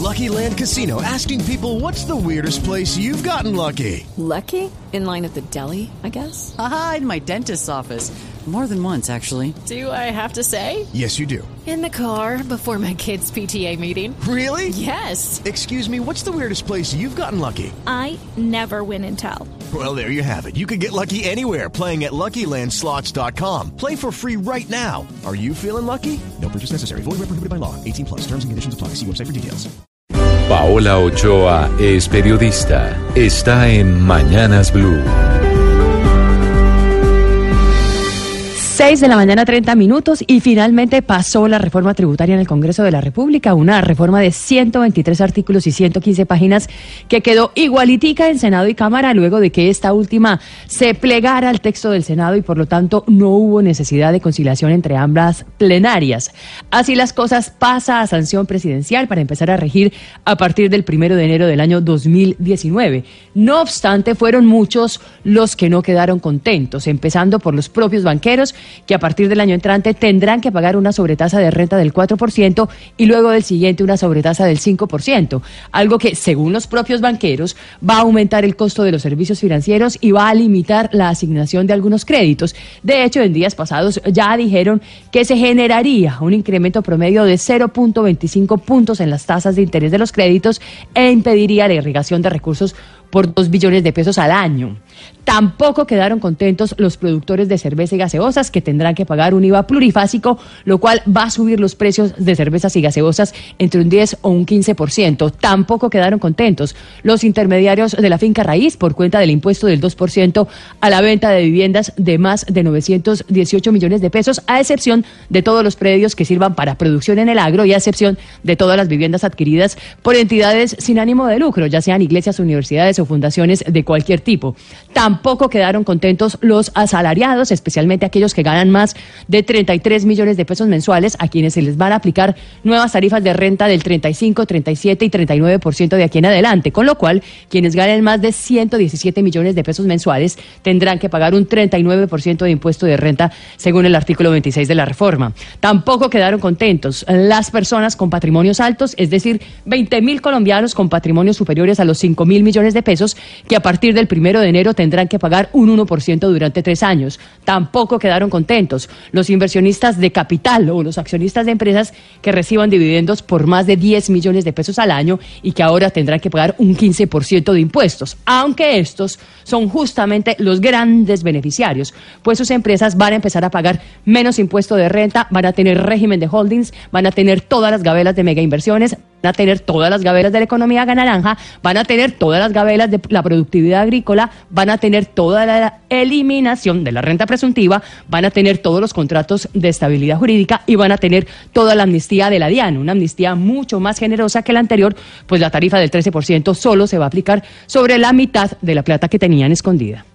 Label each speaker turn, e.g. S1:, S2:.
S1: Lucky Land Casino, asking people, what's the weirdest place you've gotten lucky?
S2: Lucky? In line at the deli, I guess?
S3: Aha, in my dentist's office. More than once, actually.
S2: Do I have to say?
S1: Yes, you do.
S2: In the car before my kids' PTA meeting.
S1: Really?
S2: Yes.
S1: Excuse me, what's the weirdest place you've gotten lucky?
S4: I never win and tell.
S1: Well, there you have it. You can get lucky anywhere, playing at LuckyLandSlots.com. Play for free right now. Are you feeling lucky? No purchase necessary. Void where prohibited by law. 18+. Terms and conditions apply. See website for details.
S5: Paola Ochoa es periodista. Está en Mañanas Blue.
S6: 6 de la mañana, 30 minutos, y finalmente pasó la reforma tributaria en el Congreso de la República, una reforma de 123 artículos y 115 páginas que quedó igualitica en Senado y Cámara luego de que esta última se plegara al texto del Senado y por lo tanto no hubo necesidad de conciliación entre ambas plenarias. Así las cosas, pasa a sanción presidencial para empezar a regir a partir del 1 de enero del año 2019. No obstante, fueron muchos los que no quedaron contentos, empezando por los propios banqueros, que a partir del año entrante tendrán que pagar una sobretasa de renta del 4% y luego del siguiente una sobretasa del 5%, algo que, según los propios banqueros, va a aumentar el costo de los servicios financieros y va a limitar la asignación de algunos créditos. De hecho, en días pasados ya dijeron que se generaría un incremento promedio de 0.25 puntos en las tasas de interés de los créditos e impediría la irrigación de recursos por 2 billones de pesos al año. Tampoco quedaron contentos los productores de cerveza y gaseosas, que tendrán que pagar un IVA plurifásico, lo cual va a subir los precios de cervezas y gaseosas entre un 10 o un 15%. Tampoco quedaron contentos los intermediarios de la finca raíz por cuenta del impuesto del 2% a la venta de viviendas de más de 918 millones de pesos, a excepción de todos los predios que sirvan para producción en el agro y a excepción de todas las viviendas adquiridas por entidades sin ánimo de lucro, ya sean iglesias, universidades o fundaciones de cualquier tipo. Tampoco quedaron contentos los asalariados, especialmente aquellos que ganan más de 33 millones de pesos mensuales, a quienes se les van a aplicar nuevas tarifas de renta del 35, 37 y 39% de aquí en adelante, con lo cual quienes ganen más de 117 millones de pesos mensuales tendrán que pagar un 39% de impuesto de renta, según el artículo 26 de la reforma. Tampoco quedaron contentos las personas con patrimonios altos, es decir, 20.000 colombianos con patrimonios superiores a los 5.000 millones de pesos, que a partir del 1 de enero tendrán que pagar un 1% durante 3 años. Tampoco quedaron contentos los inversionistas de capital o los accionistas de empresas que reciban dividendos por más de 10 millones de pesos al año y que ahora tendrán que pagar un 15% de impuestos, aunque estos son justamente los grandes beneficiarios, pues sus empresas van a empezar a pagar menos impuesto de renta, van a tener régimen de holdings, van a tener todas las gabelas de mega inversiones, van a tener todas las gabelas de la economía naranja, van a tener todas las gabelas de la productividad agrícola, van a tener toda la eliminación de la renta presuntiva, van a tener todos los contratos de estabilidad jurídica y van a tener toda la amnistía de la DIAN, una amnistía mucho más generosa que la anterior, pues la tarifa del 13% solo se va a aplicar sobre la mitad de la plata que tenían escondida.